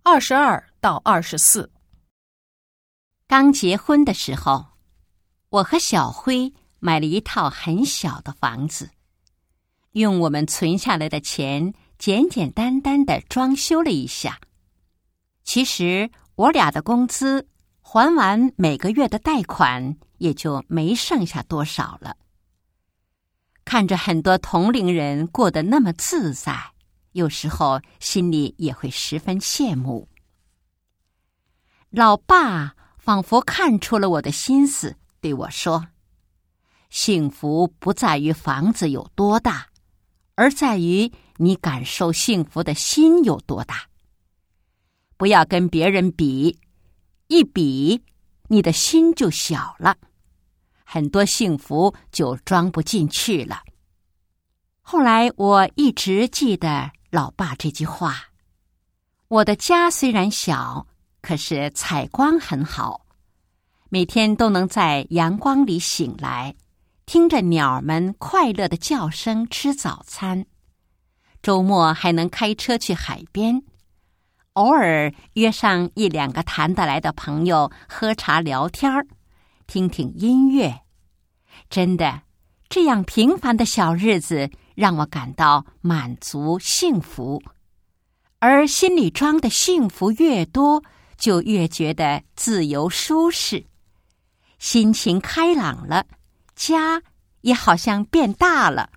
22-24。 刚结婚的时候，我和小辉买了一套很小的房子，用我们存下来的钱简简单单地装修了一下。其实我俩的工资还完每个月的贷款，也就没剩下多少了。看着很多同龄人过得那么自在，有时候心里也会十分羡慕。老爸仿佛看出了我的心思，对我说：幸福不在于房子有多大，而在于你感受幸福的心有多大。不要跟别人比，一比，你的心就小了，很多幸福就装不进去了。后来我一直记得老爸这句话。我的家虽然小，可是采光很好，每天都能在阳光里醒来，听着鸟们快乐的叫声吃早餐。周末还能开车去海边，偶尔约上一两个谈得来的朋友喝茶聊天儿，听听音乐。真的，这样平凡的小日子让我感到满足幸福，而心里装的幸福越多，就越觉得自由舒适，心情开朗了，家也好像变大了。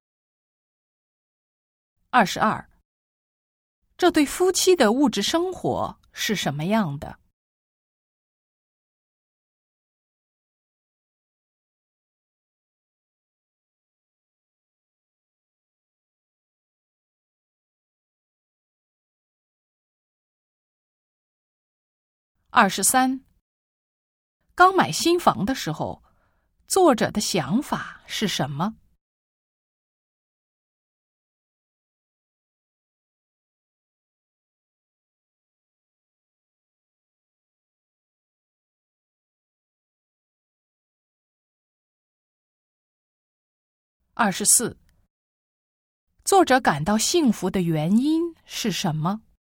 22，这对夫妻的物质生活是什么样的？23，刚买新房的时候，作者的想法是什么？24，作者感到幸福的原因是什么？